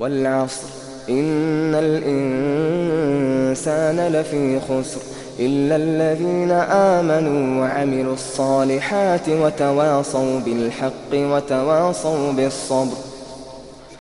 والعصر إن الإنسان لفي خسر إلا الذين آمنوا وعملوا الصالحات وتواصوا بالحق وتواصوا بالصبر.